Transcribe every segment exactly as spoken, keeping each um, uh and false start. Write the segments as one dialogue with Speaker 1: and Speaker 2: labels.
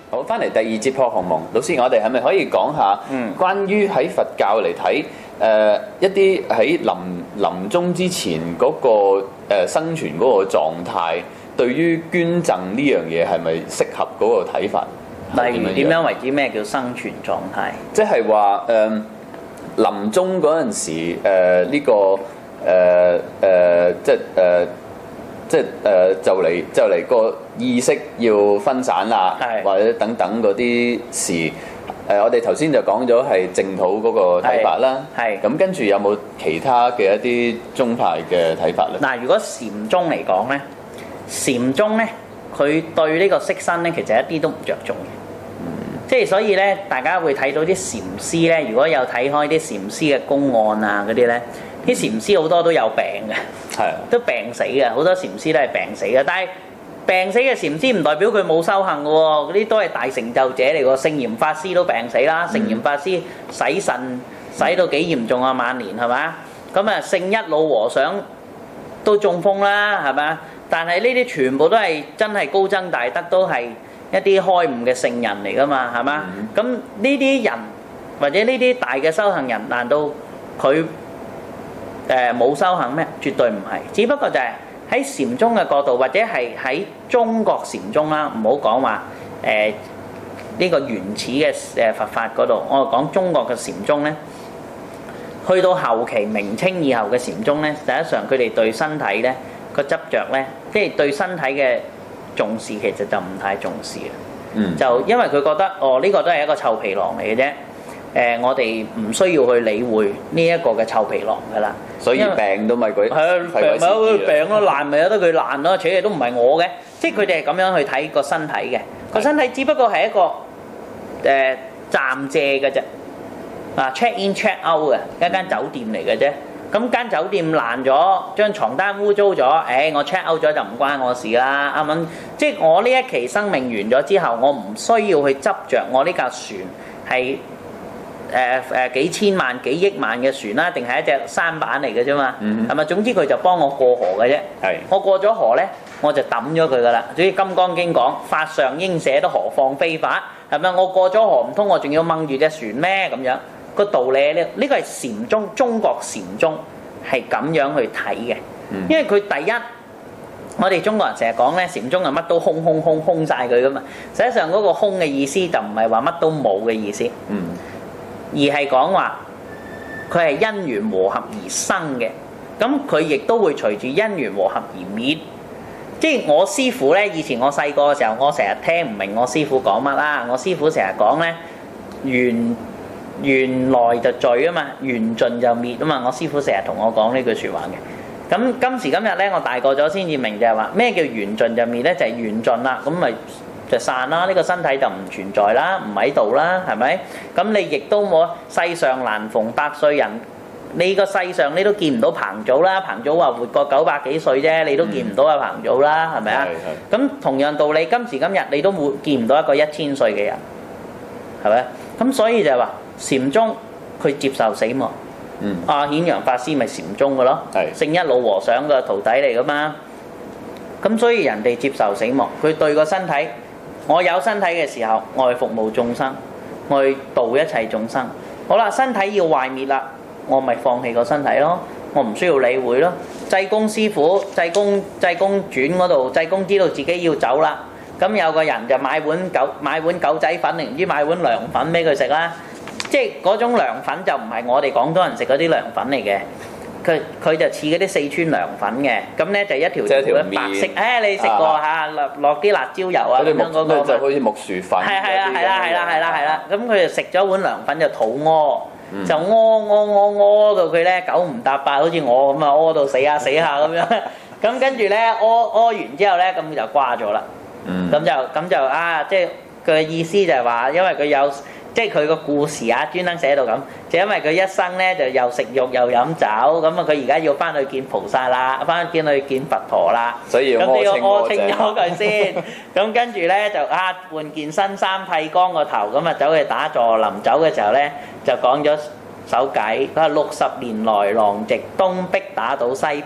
Speaker 1: 好，翻嚟第二節破鴻蒙，老師，我哋係咪可以講下關於喺佛教嚟睇誒一啲喺臨臨終之前嗰、那個誒、呃、生存嗰個狀態，對於捐贈呢樣嘢係咪適合嗰個睇法？
Speaker 2: 例如點樣為之咩叫生存狀態？
Speaker 1: 即係話誒臨終嗰陣時誒呢、呃這個誒誒、呃呃、即係誒。呃即係誒、呃、就嚟就嚟個意識要分散啦，或者等等嗰啲事誒、呃，我哋頭先就講咗係淨土嗰個睇法啦。係咁跟住有冇其他嘅一啲宗派嘅睇法咧？嗱，如果禪宗嚟講咧，禪宗咧佢對呢個色身咧其實一啲都唔着重嘅。嗯，即係所以咧，大家會睇到啲禪師咧，如果有睇開啲禪師嘅公案啊嗰啲咧。啲禪師好多都有病嘅，係都病死嘅，好多禪師都係病死嘅。但係病死嘅禪師唔代表佢冇修行嘅喎，嗰啲都係大成就者嚟喎。聖嚴法師都病死啦，聖嚴法師洗腎洗到幾嚴重啊，晚年係嘛？咁啊，聖一老和尚都中風啦，係嘛？但係呢啲全部都係真係高僧大德，都係一啲開悟嘅聖人嚟㗎嘛，係嘛？咁呢啲人或者呢啲大嘅修行人，難道佢誒冇修行咩？絕對唔係，只不過就係喺禪宗嘅角度，或者係喺中國禪宗啦，唔好講話誒呢個原始嘅誒佛法嗰度，我講中國嘅禪宗咧，去到後期明清以後嘅禪宗咧，實際上佢哋對身體咧個執着咧，即係對身體嘅重視其實就唔太重視嘅。嗯，就因為佢覺得哦呢個都係一個臭皮囊嚟嘅啫。誒、呃，我哋唔需要去理會呢一個嘅臭皮囊㗎啦，所以病都咪佢係啊，病咪佢病咯，爛咪由得佢爛咯，且嘢都唔係我嘅，即係佢哋係咁樣去睇個身體嘅，個身體只不過係一個誒、呃、暫借嘅啫，啊 check in check out 嘅一間酒店嚟嘅啫，咁間酒店爛咗，張床單污糟咗，誒、哎、我 check out 咗就唔關我事啦，啱唔啱？即係我呢一期生命完咗之後，我唔需要去執着我呢架船係。誒誒、呃、幾千萬幾億萬嘅船啦，定係一隻舢板嚟嘅啫嘛，係咪、mm hmm.？總之佢就幫我過河嘅啫。係是，我過咗河咧，我就抌咗佢噶啦。總之《金剛經》講法上應捨得何況非法，係咪？我過咗河唔通我仲要掹住隻船咩？咁樣個道理咧，呢個係禪宗，中國禪宗係咁樣去睇嘅。Mm hmm. 因為佢第一，我哋中國人成日講咧，禪宗係乜都空空空空晒佢噶嘛。實際上嗰個空嘅意思就唔係話乜都冇嘅意思。嗯、mm。Hmm. 而係講話佢係因緣和合而生嘅，咁佢亦都會隨住因緣和合而滅。即係我師父咧，以前我細個嘅時候，我成日聽唔明我師父講乜啦。我師父成日講咧，緣緣來就聚啊嘛，緣盡就滅啊嘛。我師父成日同我講呢句説話嘅。咁今時今日咧，我大個咗先至明就係話咩叫緣盡就滅咧，就係緣盡啦。咁咪就散啦，呢、這個身體就唔存在啦，唔喺度啦，係咪？咁你亦都冇世上難逢百歲人，你個世上你都見唔到彭祖啦，彭祖話活過九百幾歲啫，你都見唔到阿彭祖啦，係咪啊？咁同樣道理，今時今日你都冇見唔到一個一千歲嘅人，係咪？咁所以就係話禪宗佢接受死亡。嗯。阿顯揚法師咪禪宗嘅咯，係聖一老和尚嘅徒弟嚟噶嘛。咁所以人哋接受死亡，佢對個身體。我有身體嘅時候，我去服務眾生，我去度一切眾生。好啦，身體要壞滅啦，我咪放棄個身體咯，我唔需要理會咯。濟公師傅，濟公濟公傳嗰度，濟公知道自己要走啦，咁有個人就買碗狗買碗狗仔粉，定唔知買碗涼粉俾佢食啦。即係嗰種涼粉就唔係我哋廣東人食嗰啲涼粉嚟嘅。佢佢就似嗰啲四川涼粉嘅，咁咧就一條條白色，誒你食過嚇，落落啲辣椒油啊咁樣嗰個，就好似木薯粉。係係啊係啦係啦係啦係啦，咁佢就食咗碗涼粉就肚屙，就屙屙屙屙到佢咧九唔搭八，好似我咁啊屙到死下死下咁樣，咁跟住咧屙屙完之後咧，咁就瓜咗啦。嗯。咁就咁就啊，即係佢嘅意思就係話，因為佢有。即係佢個故事啊，專登寫到咁，就因為佢一生咧就又食肉又飲酒，咁啊佢而家要翻去見菩薩啦，翻去見去見佛陀啦，所以要咁你要屙清咗佢先，咁跟住咧就啊換件新衫剃光個頭，咁啊走去打坐，臨走嘅時候咧就講咗首偈，佢話六十年來狼藉東壁打倒西壁，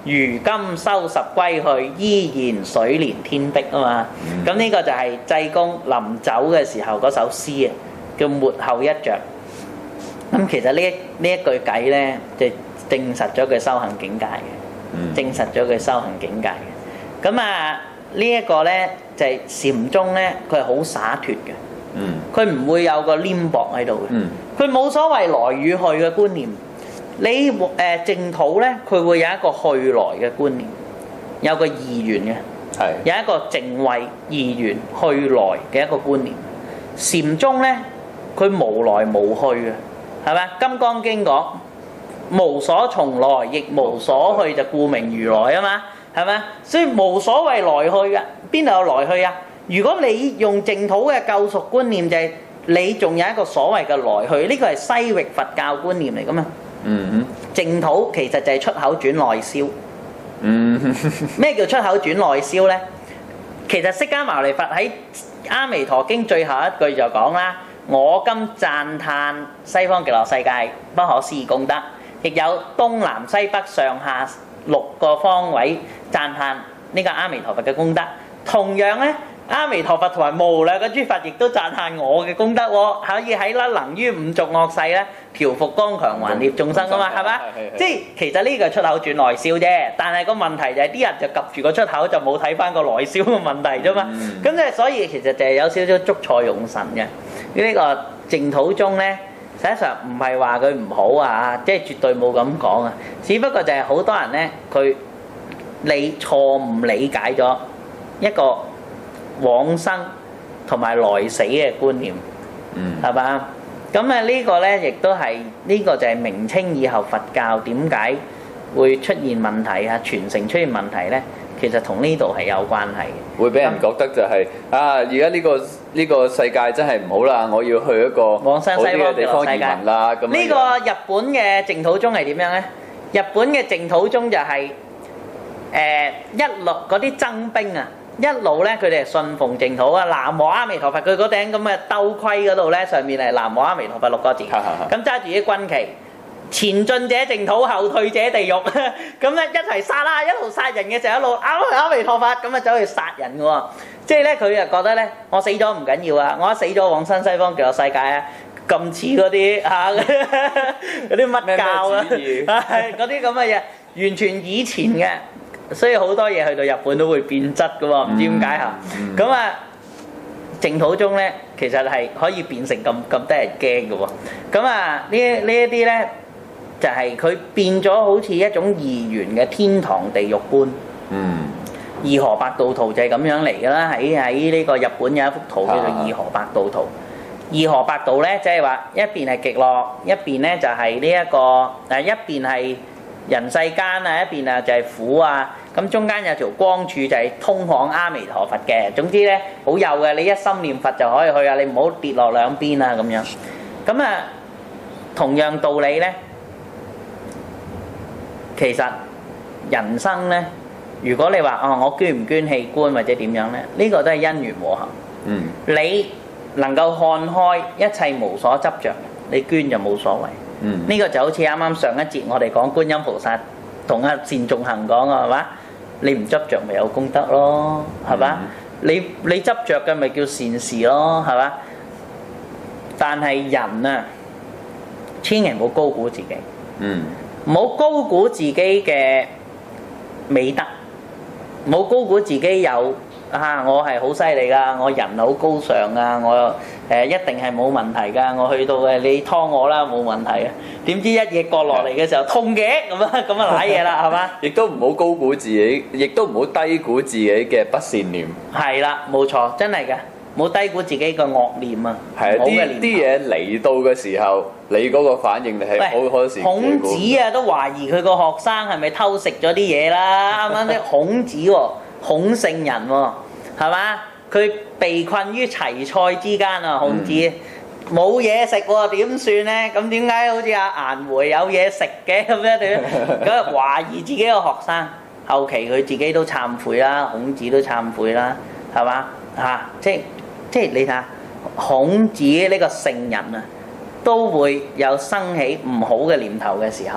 Speaker 2: 如今收拾歸去，依然水連天碧啊嘛。咁呢、嗯、個就係濟公臨走嘅時候嗰首詩啊，叫末後一着。咁其實呢呢一句偈咧，就證實咗佢修行境界嘅，嗯、證實咗佢修行境界嘅。咁啊，這個、呢一個咧就係、是、禪宗咧，佢係好灑脱嘅，佢唔、嗯、會有個黏薄喺度嘅，佢冇、嗯、所謂來與去嘅觀念。你誒淨土咧，佢會有一個去來嘅觀念，有個二元嘅，係是有一個淨慧二元去來嘅一個觀念。禪宗咧，佢無來無去嘅。係咪？《金剛經》講無所從來，亦無所去，就故名如來啊嘛，係咪？所以無所謂來去嘅，邊度有來去啊？如果你用淨土嘅救贖觀念，就係、是、你仲有一個所謂嘅來去，呢個係西域佛教觀念嚟噶嘛？嗯哼，淨土其實就係出口轉內銷。嗯哼，咩叫出口轉內銷呢？其實釋迦牟尼佛喺《阿彌陀經》最後一句就講啦。我今讚歎西方極樂世界不可思議功德，亦有東南西北上下六個方位讚歎呢個阿彌陀佛嘅功德。同樣咧，阿彌陀佛同埋無量嘅諸佛亦都讚歎我嘅功德喎，可以喺啦能於五濁惡世咧調伏剛強還孽眾生噶嘛，係咪？即係其實呢個出口轉內銷啫，但係個問題就係啲人就及住個出口就冇睇翻個內銷嘅問題啫嘛。咁即係所以其實就係有少少捉錯用神嘅。呢個淨土宗咧，實際上唔係話佢唔好啊，即係絕對冇咁講啊。只不過就係好多人咧，佢你錯誤理解咗一個往生同埋來死嘅觀念，嗯，係嘛？咁啊呢個咧，亦都係呢個就係明清以後佛教點解會出現問題啊，傳承出現問題咧？其實同呢度係有關係嘅，會俾人覺得就係、是嗯、啊，而家呢個呢、呢個世界真係唔好啦，我要去一個往生西方嘅地方移民啦。咁呢個日本嘅淨土宗係點樣咧？日本嘅淨土宗就係、是、誒、呃、一路嗰啲僧兵啊，一路咧佢哋係信奉淨土啊，南無阿彌陀佛，佢嗰頂咁嘅兜盔嗰度咧，上面係南無阿彌陀佛六個字，咁揸住啲軍旗。前進者淨土，後退者地獄。咁咧一齊殺啦，一路殺人嘅時候一路阿阿彌陀佛咁啊走去殺人嘅喎。即係咧佢就覺得咧，我死咗唔緊要啊，我一死咗往生西方極樂世界啊，咁似嗰啲嚇嗰啲乜教啊，嗰啲咁嘅嘢，完全以前嘅，所以好多嘢去到日本都會變質嘅喎，唔知點解嚇。咁啊淨土宗咧，其實係可以變成咁咁得人驚嘅喎。咁啊呢呢一啲咧。就係佢變咗好似一種二元嘅天堂地獄觀。嗯，二河八道圖就係咁樣嚟㗎啦。喺喺呢個日本有一幅圖叫做二河八道圖。二河八道咧，即係話一邊係極樂，一邊咧就係呢一個誒，一邊係人世間啊，一邊啊就係苦啊。咁中間有條光柱就係通往阿彌陀佛嘅。總之咧好幼嘅，你一心念佛就可以去啊，你唔好跌落兩邊啊咁樣。咁啊，同樣道理咧。其實人生咧，如果你話哦，我捐唔捐器官或者點樣咧，呢、這個都係因緣和合。嗯，你能夠看開一切無所執着，你捐就冇所謂。嗯，呢個就好似啱啱上一節我哋講觀音菩薩同阿善眾行講啊，係嘛？你唔執着咪有功德咯，係嘛？嗯、你你執着嘅咪叫善事咯，係嘛？但係人啊，千祈唔好高估自己。嗯。唔好高估自己嘅美德，唔好高估自己有啊！我係好犀利㗎，我人好高尚啊！我誒、呃、一定係冇問題㗎，我去到嘅你劏我啦，冇問題啊！點知一嘢割落嚟嘅時候痛嘅咁啊，咁啊瀨嘢啦，係嘛？亦都唔好高估自己，亦都唔好低估自己嘅不善念。係啦，冇錯，真係㗎。冇低估自己個惡念啊！係啊，啲啲嘢嚟到嘅時候，你嗰個反應你係好可時。孔子啊，都懷疑佢個學生係咪偷食咗啲嘢啦？啱啱啲孔子喎，孔聖人喎，係嘛？佢被困於齊菜之間啊，孔子冇嘢食喎，點算咧？咁點解好似阿顏回有嘢食嘅咁樣點？咁懷疑自己個學生，後期佢自己都懺悔啦，孔子都懺悔啦，係嘛？嚇，即係。即係你睇下，孔子呢個聖人啊，都會有生起唔好嘅念頭嘅時候，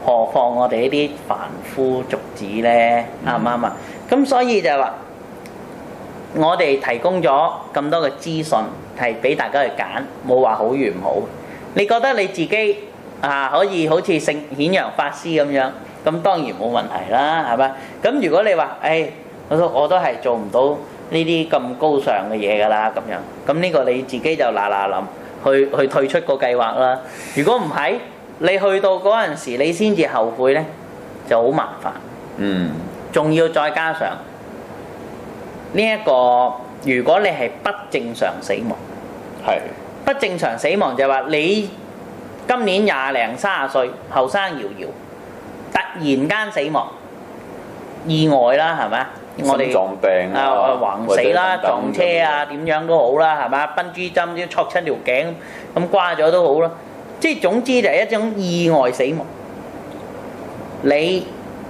Speaker 2: 何況我哋呢啲凡夫俗子咧，啱唔啱啊？咁所以就係話，我哋提供咗咁多嘅資訊，係俾大家去揀，冇話好與唔好。你覺得你自己啊可以好似聖顯揚法師咁樣，咁當然冇問題啦，係咪？咁如果你話，誒，我都我都係做唔到呢啲咁高尚嘅嘢㗎啦，咁樣，咁呢個你自己就嗱嗱臨去去退出個計劃啦。如果唔係，你去到嗰陣時，你先至後悔咧，就好麻煩。
Speaker 1: 嗯。
Speaker 2: 仲要再加上呢一個，如果你係不正常死亡，
Speaker 1: 係
Speaker 2: 不正常死亡就係話你今年廿零三十歲，後生搖搖，突然間死亡，意外啦，係咪？我哋
Speaker 1: 心臟病
Speaker 2: 啊，橫死啦，撞車啊，點樣都好啦，係嘛？崩珠針都戳親條頸，咁瓜咗都好啦。即係總之就係一種意外死亡。你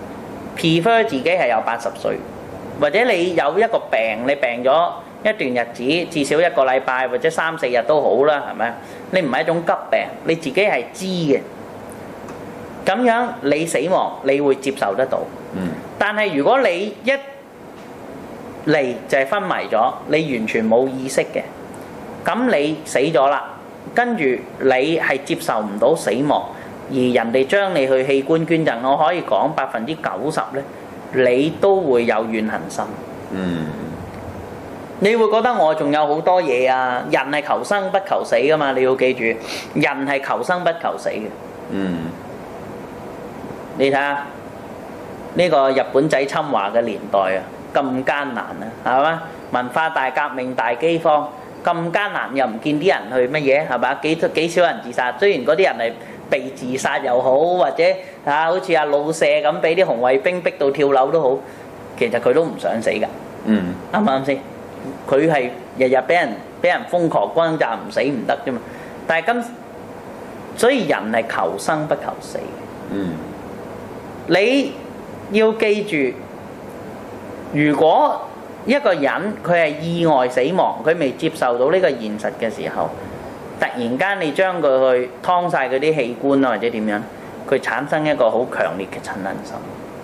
Speaker 2: prefer 自己係有八十歲，或者你有一個病，你病咗一段日子，至少一個禮拜或者三四日都好啦，係咪？你唔係一種急病，你自己係知嘅。咁樣你死亡，你會接受得到。
Speaker 1: 嗯。但
Speaker 2: 係如果你一嚟就係昏迷咗，你完全冇意識嘅，咁你死咗啦，跟住你係接受唔到死亡，而人哋將你去器官捐贈，我可以講百分之九十咧，你都會有怨恨心。
Speaker 1: 嗯。
Speaker 2: 你會覺得我仲有好多嘢啊！人係求生不求死噶嘛，你要記住，人係求生不求死嘅。
Speaker 1: 嗯。
Speaker 2: 你睇下呢個日本仔侵華嘅年代啊！咁艱難啊，係嘛？文化大革命、大饑荒，咁艱難又唔見啲人去乜嘢，係嘛？幾幾少人自殺？雖然嗰啲人係被自殺又好，或者啊，好似阿老舍咁，俾啲紅衛兵逼到跳樓都好，其實佢都唔想死㗎。
Speaker 1: 嗯，
Speaker 2: 啱唔啱先？佢係日日俾人俾人瘋狂轟炸，唔死唔得啫嘛。但係今所以人係求生不求死。
Speaker 1: 嗯，
Speaker 2: 你要記住。如果一個人佢係意外死亡，佢未接受到呢個現實嘅時候，突然間你將佢去劏晒佢啲器官啊，或者點樣，佢產生一個好強烈嘅親恨心，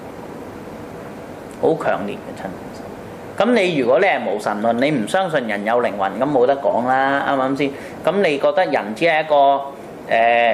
Speaker 2: 好強烈嘅親恨心。咁你如果你係無神論，你唔相信人有靈魂，咁冇得講啦，啱唔啱先？咁你覺得人只係一個誒、呃、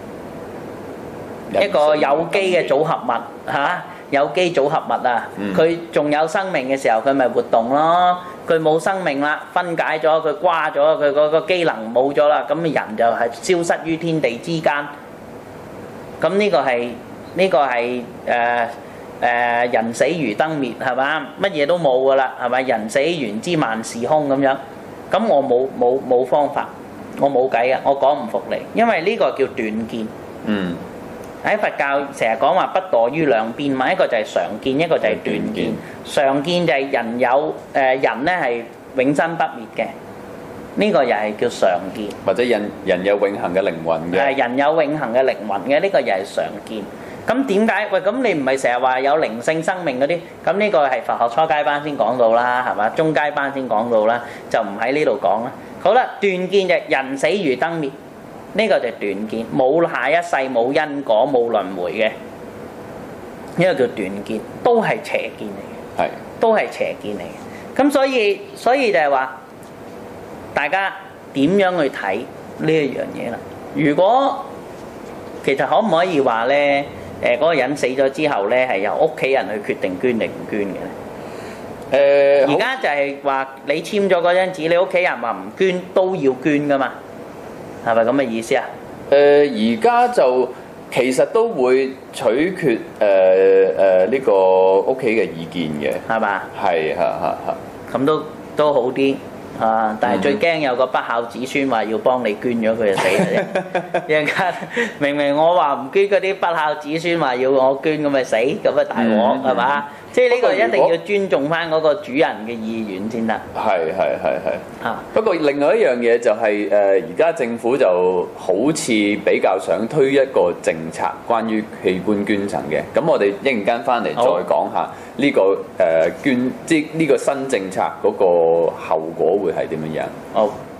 Speaker 2: 一個有機嘅組合物嚇？啊有機組合物啊，佢仲有生命嘅時候，佢咪活動咯。佢冇生命啦，分解咗，佢瓜咗，佢嗰個機能冇咗啦，咁人就係消失於天地之間。咁呢個係呢個係誒誒人死如燈滅，係嘛？乜嘢都冇噶啦，係咪？人死原知萬事空咁樣。咁我冇冇冇方法，我冇計啊，我講唔服你，因為呢個叫斷見。嗯。喺佛教成日講話不墮於兩邊嘛，一個就係常見，一個就係斷見。常見就係人有誒、呃、人咧係永生不滅嘅，呢、這個又係叫常見。或者人人有永恆嘅靈魂嘅。誒人有永恆嘅靈魂嘅，呢、這個又係常見。咁點解？喂，咁你唔係成日話有靈性生命嗰啲？咁呢個係佛學初階班先講到啦，係嘛？中階班先講到啦，就唔喺呢度講啦。好啦，斷見就係人死如燈滅。呢個就係斷見，冇下一世，冇因果，冇輪迴嘅，呢個叫斷見，都係邪見嚟嘅，係都係邪見嚟嘅。咁所以所以就係話，大家點樣去睇呢一樣嘢啦？如果其實可唔可以話咧？誒嗰個人死咗之後咧，係由屋企人去決定捐定唔捐嘅咧？誒，而家就係話你簽咗嗰張紙，你屋企人話唔捐都要捐噶嘛？係咪咁嘅意思啊？誒而家就其實都會取決誒誒呢個屋企嘅意見嘅，係嘛？係嚇嚇嚇。咁都都好啲啊！但係最驚有個不孝子孫話要幫你捐咗佢就死啦啫！一陣間明明我話唔捐，嗰啲不孝子孫話要我捐咁咪死，咁啊大鑊係嘛？即係呢個一定要尊重翻嗰個主人嘅意願先得。係係係係。啊！不過另外一樣嘢就係誒，而家政府就好似比較想推一個政策，關於器官捐贈嘅。咁我哋一陣間翻嚟再講下呢個誒捐，即係呢個新政策嗰個後果會係點樣樣。好。